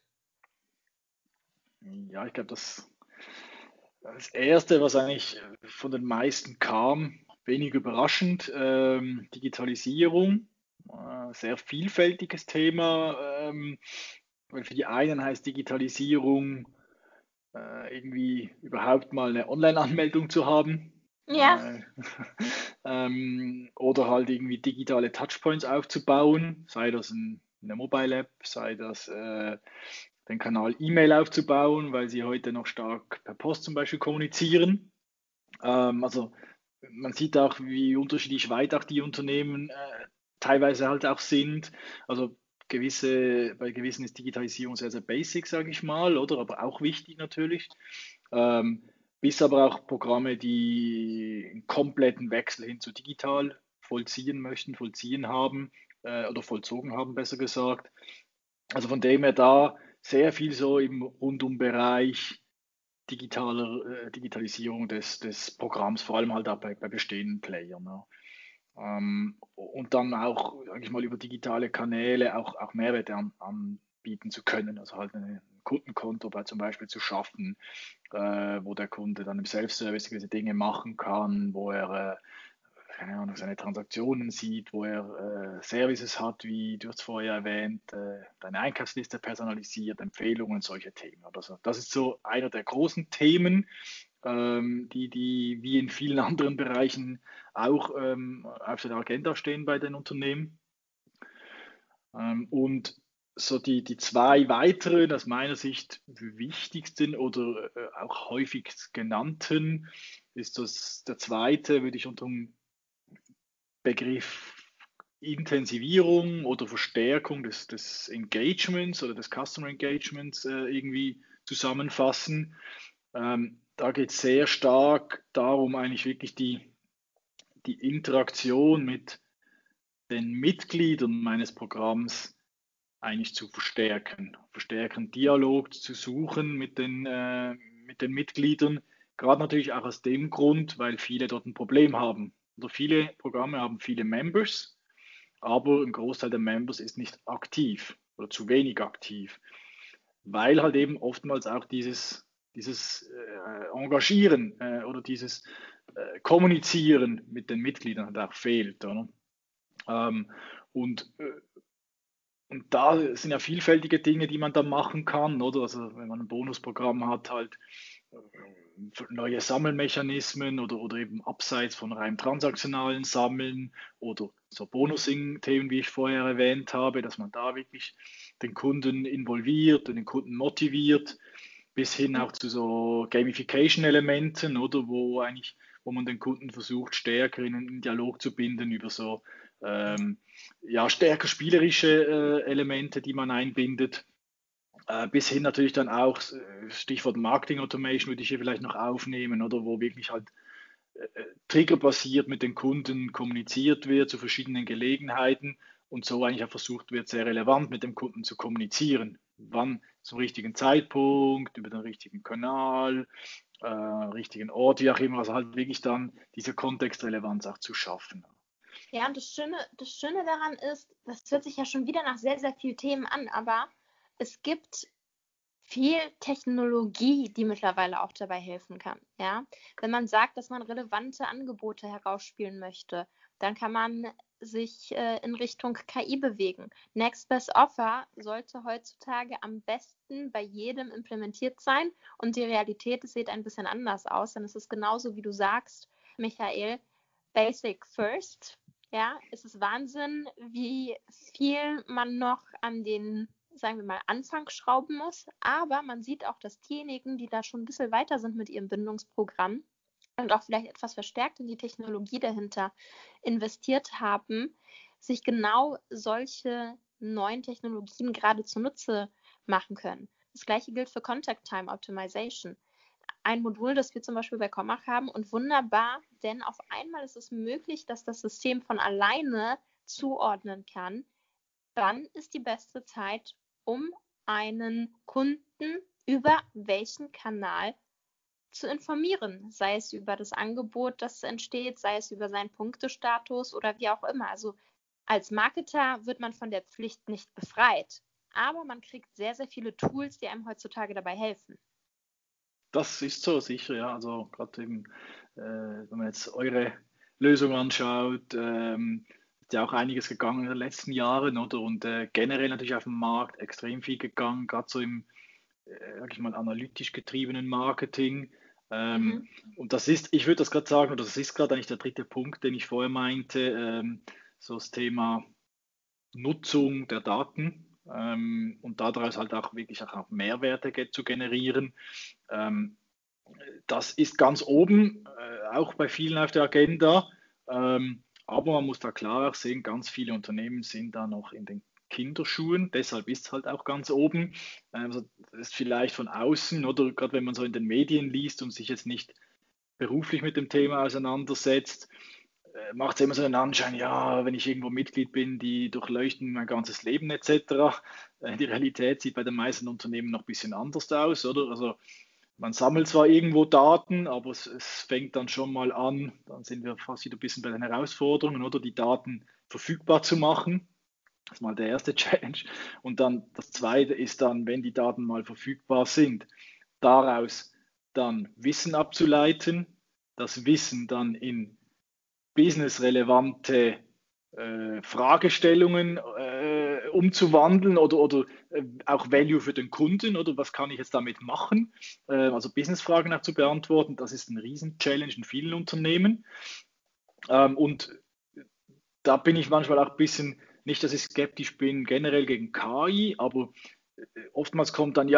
Ja, ich glaube, das Erste, was eigentlich von den meisten kam, wenig überraschend, Digitalisierung, sehr vielfältiges Thema, weil für die einen heißt Digitalisierung irgendwie überhaupt mal eine Online-Anmeldung zu haben. Ja. Oder halt irgendwie digitale Touchpoints aufzubauen, sei das in der Mobile App, sei das den Kanal E-Mail aufzubauen, weil sie heute noch stark per Post zum Beispiel kommunizieren. Also man sieht auch, wie unterschiedlich weit auch die Unternehmen teilweise halt auch sind. Also bei gewissen ist Digitalisierung sehr, sehr basic, sage ich mal, oder aber auch wichtig natürlich. Bis aber auch Programme, die einen kompletten Wechsel hin zu digital vollziehen haben oder vollzogen haben, besser gesagt. Also von dem her da sehr viel so im Rundumbereich Digitalisierung des Programms, vor allem halt auch bei bestehenden Playern. Ja. Und dann auch, sage ich mal, über digitale Kanäle auch Mehrwerte anbieten zu können, also halt ein Kundenkonto zum Beispiel zu schaffen, wo der Kunde dann im Self-Service gewisse Dinge machen kann, wo er keine Ahnung, seine Transaktionen sieht, wo er Services hat, wie du hast vorher erwähnt, deine Einkaufsliste personalisiert, Empfehlungen, solche Themen. Also das ist so einer der großen Themen, die wie in vielen anderen Bereichen auch auf der Agenda stehen bei den Unternehmen. Und so die zwei weiteren, aus meiner Sicht wichtigsten oder auch häufig genannten, ist der zweite, würde ich unter dem Begriff Intensivierung oder Verstärkung des Engagements oder des Customer Engagements irgendwie zusammenfassen. Da geht es sehr stark darum, eigentlich wirklich die Interaktion mit den Mitgliedern meines Programms eigentlich zu verstärken, Dialog zu suchen mit den Mitgliedern, gerade natürlich auch aus dem Grund, weil viele dort ein Problem haben. Oder viele Programme haben viele Members, aber ein Großteil der Members ist nicht aktiv oder zu wenig aktiv, weil halt eben oftmals auch dieses Engagieren oder dieses Kommunizieren mit den Mitgliedern halt auch fehlt. Oder? Und da sind ja vielfältige Dinge, die man da machen kann, oder? Also wenn man ein Bonusprogramm hat, halt neue Sammelmechanismen oder eben abseits von rein transaktionalen Sammeln oder so Bonusing-Themen, wie ich vorher erwähnt habe, dass man da wirklich den Kunden involviert und den Kunden motiviert, bis hin auch zu so Gamification-Elementen, oder wo man den Kunden versucht, stärker in einen Dialog zu binden über so stärker spielerische Elemente, die man einbindet. Bis hin natürlich dann auch, Stichwort Marketing Automation würde ich hier vielleicht noch aufnehmen, oder wo wirklich halt triggerbasiert mit den Kunden kommuniziert wird zu verschiedenen Gelegenheiten und so eigentlich auch versucht wird, sehr relevant mit dem Kunden zu kommunizieren. Wann zum richtigen Zeitpunkt, über den richtigen Kanal, richtigen Ort, wie auch immer, also halt wirklich dann diese Kontextrelevanz auch zu schaffen. Ja, und das Schöne daran ist, das hört sich ja schon wieder nach sehr, sehr vielen Themen an, aber es gibt viel Technologie, die mittlerweile auch dabei helfen kann. Ja? Wenn man sagt, dass man relevante Angebote herausspielen möchte, dann kann man sich in Richtung KI bewegen. Next Best Offer sollte heutzutage am besten bei jedem implementiert sein und die Realität sieht ein bisschen anders aus, denn es ist genauso, wie du sagst, Michael, Basic First. Ja, es ist Wahnsinn, wie viel man noch an den, sagen wir mal, Anfang schrauben muss, aber man sieht auch, dass diejenigen, die da schon ein bisschen weiter sind mit ihrem Bindungsprogramm, und auch vielleicht etwas verstärkt in die Technologie dahinter investiert haben, sich genau solche neuen Technologien gerade zunutze machen können. Das gleiche gilt für Contact Time Optimization. Ein Modul, das wir zum Beispiel bei Commach haben und wunderbar, denn auf einmal ist es möglich, dass das System von alleine zuordnen kann, wann ist die beste Zeit, um einen Kunden über welchen Kanal zu informieren, sei es über das Angebot, das entsteht, sei es über seinen Punktestatus oder wie auch immer. Also als Marketer wird man von der Pflicht nicht befreit, aber man kriegt sehr, sehr viele Tools, die einem heutzutage dabei helfen. Das ist so sicher, ja. Also gerade eben, wenn man jetzt eure Lösung anschaut, ist ja auch einiges gegangen in den letzten Jahren, oder? Und generell natürlich auf dem Markt extrem viel gegangen, gerade so im, sag ich mal, analytisch getriebenen Marketing. Und das ist, ich würde das gerade sagen, oder das ist gerade eigentlich der dritte Punkt, den ich vorher meinte, so das Thema Nutzung der Daten und daraus halt auch wirklich auch Mehrwerte zu generieren. Das ist ganz oben, auch bei vielen auf der Agenda. Aber man muss da klar auch sehen, ganz viele Unternehmen sind da noch in den Kinderschuhen, deshalb ist es halt auch ganz oben. Also das ist vielleicht von außen oder gerade wenn man so in den Medien liest und sich jetzt nicht beruflich mit dem Thema auseinandersetzt, macht es immer so einen Anschein, ja, wenn ich irgendwo Mitglied bin, die durchleuchten mein ganzes Leben etc. Die Realität sieht bei den meisten Unternehmen noch ein bisschen anders aus, oder? Also man sammelt zwar irgendwo Daten, aber es fängt dann schon mal an, dann sind wir fast wieder ein bisschen bei den Herausforderungen, oder die Daten verfügbar zu machen. Das ist mal der erste Challenge. Und dann das zweite ist dann, wenn die Daten mal verfügbar sind, daraus dann Wissen abzuleiten, das Wissen dann in businessrelevante Fragestellungen umzuwandeln oder auch Value für den Kunden oder was kann ich jetzt damit machen, also Businessfragen auch zu beantworten, das ist ein Riesen-Challenge in vielen Unternehmen und da bin ich manchmal auch ein bisschen, nicht, dass ich skeptisch bin generell gegen KI, aber oftmals kommt dann,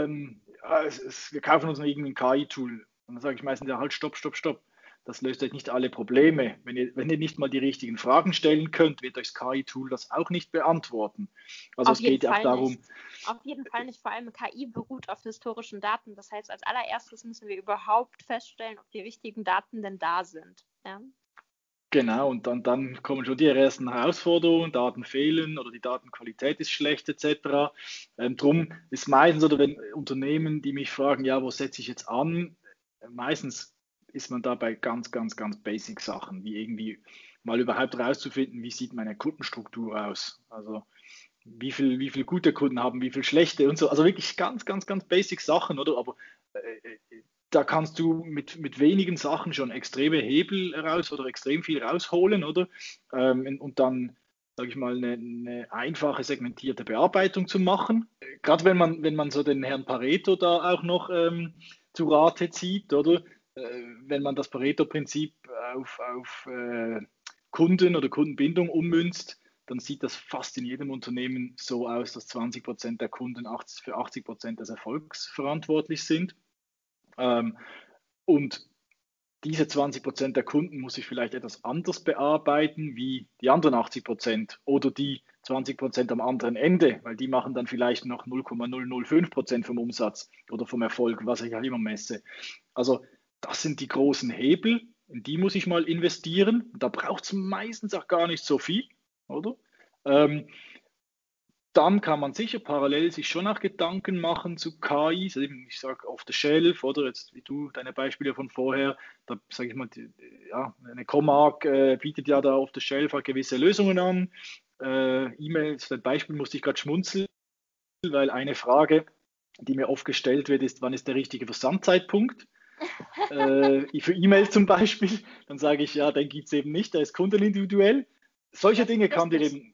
wir kaufen uns noch irgendwie ein KI-Tool. Und dann sage ich meistens, ja, halt, stopp. Das löst euch nicht alle Probleme. Wenn ihr nicht mal die richtigen Fragen stellen könnt, wird euch das KI-Tool das auch nicht beantworten. Also es geht ja auch darum. Auf jeden Fall nicht. Vor allem KI beruht auf historischen Daten. Das heißt, als allererstes müssen wir überhaupt feststellen, ob die richtigen Daten denn da sind. Ja? Genau, und dann kommen schon die ersten Herausforderungen, Daten fehlen oder die Datenqualität ist schlecht etc. Drum ist meistens, oder wenn Unternehmen, die mich fragen, ja, wo setze ich jetzt an, meistens ist man da bei ganz basic Sachen, wie irgendwie mal überhaupt rauszufinden, wie sieht meine Kundenstruktur aus, also wie viel gute Kunden haben, wie viel schlechte und so, also wirklich ganz basic Sachen, oder, aber da kannst du mit wenigen Sachen schon extreme Hebel raus oder extrem viel rausholen, oder? Und dann, sage ich mal, eine einfache segmentierte Bearbeitung zu machen. Gerade wenn man so den Herrn Pareto da auch noch zu Rate zieht, oder? Wenn man das Pareto-Prinzip auf Kunden oder Kundenbindung ummünzt, dann sieht das fast in jedem Unternehmen so aus, dass 20% der Kunden für 80% des Erfolgs verantwortlich sind. Und diese 20% der Kunden muss ich vielleicht etwas anders bearbeiten wie die anderen 80% oder die 20% am anderen Ende, weil die machen dann vielleicht noch 0,005% vom Umsatz oder vom Erfolg, was ich halt immer messe. Also das sind die großen Hebel, in die muss ich mal investieren. Da braucht es meistens auch gar nicht so viel, oder? Dann kann man sicher parallel sich schon auch Gedanken machen zu KI, also ich sage off the shelf, oder jetzt wie du deine Beispiele von vorher, da sage ich mal, eine Commach bietet ja da off the shelf halt gewisse Lösungen an. E-Mails, das Beispiel musste ich gerade schmunzeln, weil eine Frage, die mir oft gestellt wird, ist, wann ist der richtige Versandzeitpunkt? Für E-Mails zum Beispiel, dann sage ich, ja, den gibt es eben nicht, der ist kundenindividuell. solche Dinge kann dir eben,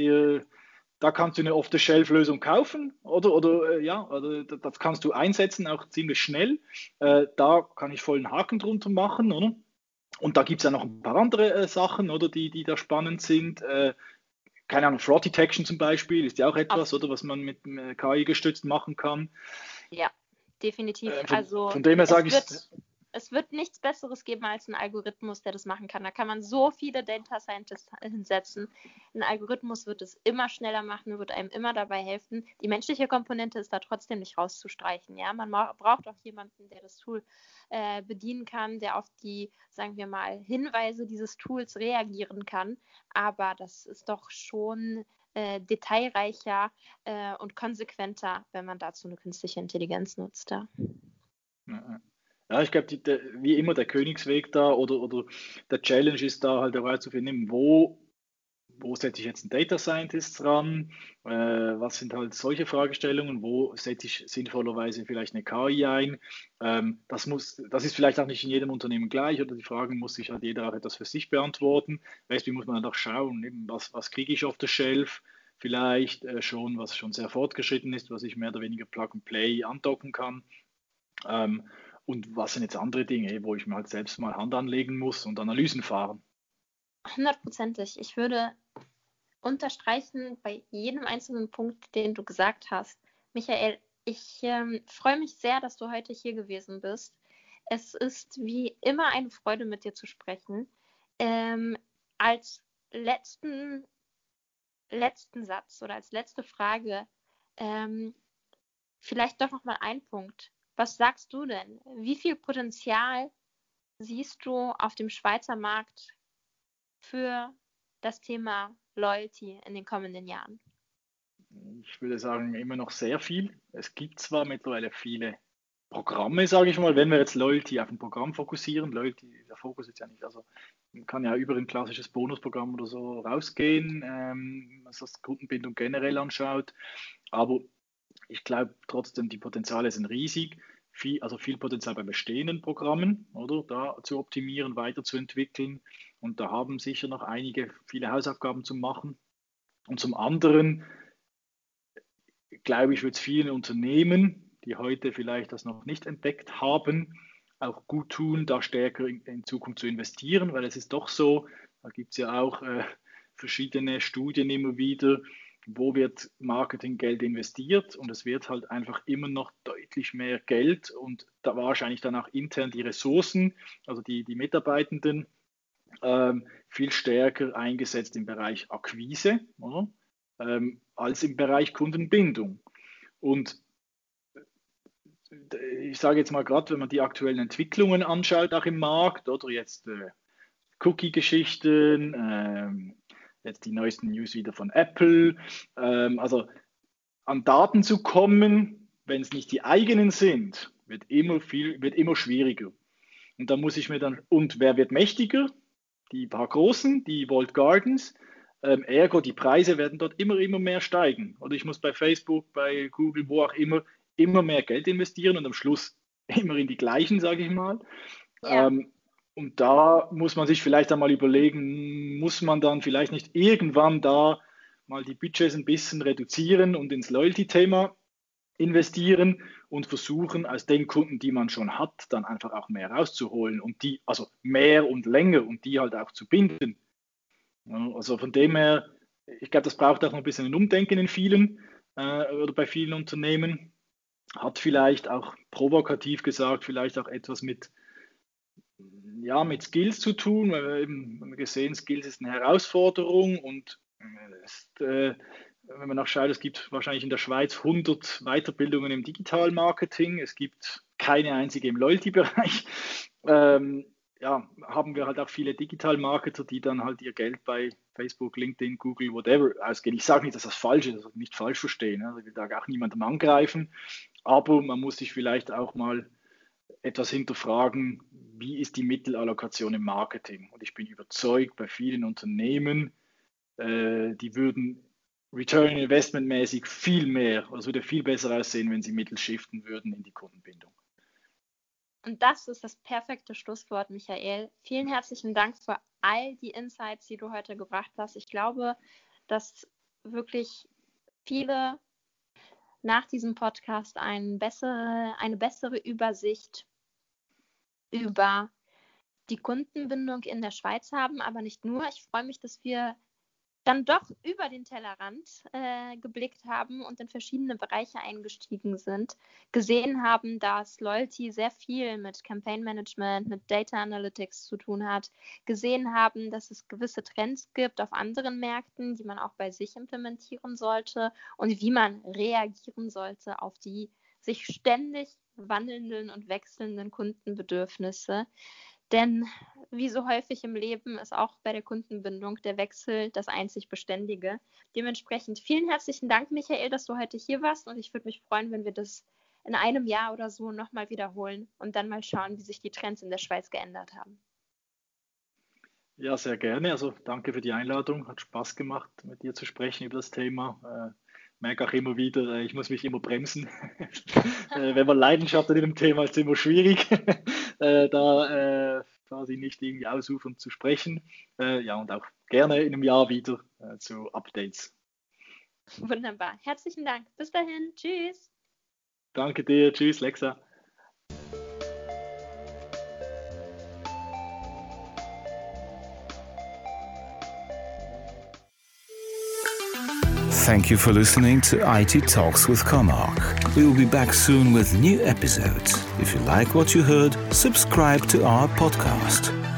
da kannst du eine Off-the-Shelf-Lösung kaufen oder das kannst du einsetzen, auch ziemlich schnell. Da kann ich voll einen Haken drunter machen, oder? Und da gibt es ja noch ein paar andere Sachen, oder, die da spannend sind. Keine Ahnung, Fraud Detection zum Beispiel ist ja auch etwas, oder, was man mit KI gestützt machen kann. Ja, definitiv. Von dem her sage ich, es wird nichts Besseres geben als ein Algorithmus, der das machen kann. Da kann man so viele Data Scientists hinsetzen. Ein Algorithmus wird es immer schneller machen, wird einem immer dabei helfen. Die menschliche Komponente ist da trotzdem nicht rauszustreichen. Ja? Man braucht auch jemanden, der das Tool bedienen kann, der auf die, sagen wir mal, Hinweise dieses Tools reagieren kann. Aber das ist doch schon detailreicher und konsequenter, wenn man dazu eine künstliche Intelligenz nutzt. Ja, ich glaube, wie immer der Königsweg da oder der Challenge ist da halt herauszufinden, wo setze ich jetzt einen Data Scientist dran, was sind halt solche Fragestellungen, wo setze ich sinnvollerweise vielleicht eine KI ein. Das ist vielleicht auch nicht in jedem Unternehmen gleich oder die Fragen muss sich halt jeder auch etwas für sich beantworten. Wie muss man dann auch schauen, eben, was kriege ich auf der Shelf, vielleicht schon, was schon sehr fortgeschritten ist, was ich mehr oder weniger Plug and Play andocken kann. Und was sind jetzt andere Dinge, wo ich mir halt selbst mal Hand anlegen muss und Analysen fahren? 100%. Ich würde unterstreichen bei jedem einzelnen Punkt, den du gesagt hast. Michael, ich freue mich sehr, dass du heute hier gewesen bist. Es ist wie immer eine Freude, mit dir zu sprechen. Als letzten Satz oder als letzte Frage vielleicht doch nochmal ein Punkt. Was sagst du denn? Wie viel Potenzial siehst du auf dem Schweizer Markt für das Thema Loyalty in den kommenden Jahren? Ich würde sagen, immer noch sehr viel. Es gibt zwar mittlerweile viele Programme, sage ich mal, wenn wir jetzt Loyalty auf ein Programm fokussieren. Loyalty, der Fokus ist ja nicht, also man kann ja über ein klassisches Bonusprogramm oder so rausgehen, was das Kundenbindung generell anschaut. Aber ich glaube trotzdem, die Potenziale sind riesig. Viel Potenzial bei bestehenden Programmen, oder? Da zu optimieren, weiterzuentwickeln. Und da haben sicher noch viele Hausaufgaben zu machen. Und zum anderen, glaube ich, wird es vielen Unternehmen, die heute vielleicht das noch nicht entdeckt haben, auch gut tun, da stärker in Zukunft zu investieren, weil es ist doch so, da gibt es ja auch verschiedene Studien immer wieder, wo wird Marketinggeld investiert und es wird halt einfach immer noch deutlich mehr Geld und da wahrscheinlich dann auch intern die Ressourcen, also die Mitarbeitenden, viel stärker eingesetzt im Bereich Akquise, oder? Als im Bereich Kundenbindung. Und ich sage jetzt mal gerade, wenn man die aktuellen Entwicklungen anschaut, auch im Markt, oder jetzt Cookie-Geschichten, jetzt die neuesten News wieder von Apple, also an Daten zu kommen, wenn es nicht die eigenen sind, wird immer schwieriger. Und da muss ich mir dann, und wer wird mächtiger? Die paar Großen, die Walled Gardens, ergo die Preise werden dort immer mehr steigen. Oder ich muss bei Facebook, bei Google, wo auch immer mehr Geld investieren und am Schluss immer in die gleichen, sage ich mal. Ja. Und da muss man sich vielleicht einmal überlegen, muss man dann vielleicht nicht irgendwann da mal die Budgets ein bisschen reduzieren und ins Loyalty-Thema investieren und versuchen, aus den Kunden, die man schon hat, dann einfach auch mehr rauszuholen und die, also mehr und länger und die halt auch zu binden. Also von dem her, ich glaube, das braucht auch noch ein bisschen ein Umdenken in vielen oder bei vielen Unternehmen. Hat vielleicht auch provokativ gesagt, vielleicht auch etwas mit Skills zu tun, weil wir eben haben gesehen, Skills ist eine Herausforderung und wenn man nachschaut, es gibt wahrscheinlich in der Schweiz 100 Weiterbildungen im Digital-Marketing, es gibt keine einzige im Loyalty-Bereich. Haben wir halt auch viele Digital-Marketer, die dann halt ihr Geld bei Facebook, LinkedIn, Google, whatever ausgeben. Ich sage nicht, dass das falsch ist, also nicht falsch verstehen. Also ich will da auch niemandem angreifen, aber man muss sich vielleicht auch mal etwas hinterfragen, wie ist die Mittelallokation im Marketing? Und ich bin überzeugt, bei vielen Unternehmen, die würden Return Investment mäßig viel mehr, also würde viel besser aussehen, wenn sie Mittel shiften würden in die Kundenbindung. Und das ist das perfekte Schlusswort, Michael. Vielen herzlichen Dank für all die Insights, die du heute gebracht hast. Ich glaube, dass wirklich viele nach diesem Podcast eine bessere Übersicht über die Kundenbindung in der Schweiz haben, aber nicht nur. Ich freue mich, dass wir dann doch über den Tellerrand geblickt haben und in verschiedene Bereiche eingestiegen sind, gesehen haben, dass Loyalty sehr viel mit Campaign Management, mit Data Analytics zu tun hat, gesehen haben, dass es gewisse Trends gibt auf anderen Märkten, die man auch bei sich implementieren sollte und wie man reagieren sollte auf die sich ständig wandelnden und wechselnden Kundenbedürfnisse. Denn wie so häufig im Leben ist auch bei der Kundenbindung der Wechsel das einzig Beständige. Dementsprechend vielen herzlichen Dank, Michael, dass du heute hier warst und ich würde mich freuen, wenn wir das in einem Jahr oder so nochmal wiederholen und dann mal schauen, wie sich die Trends in der Schweiz geändert haben. Ja, sehr gerne. Also danke für die Einladung. Hat Spaß gemacht, mit dir zu sprechen über das Thema. Merke auch immer wieder, ich muss mich immer bremsen. Wenn man Leidenschaft an dem Thema ist, es immer schwierig, da quasi nicht irgendwie ausufernd zu sprechen. Ja, und auch gerne in einem Jahr wieder zu Updates. Wunderbar. Herzlichen Dank. Bis dahin. Tschüss. Danke dir. Tschüss, Lexa. Thank you for listening to IT Talks with Comarch. We will be back soon with new episodes. If you like what you heard, subscribe to our podcast.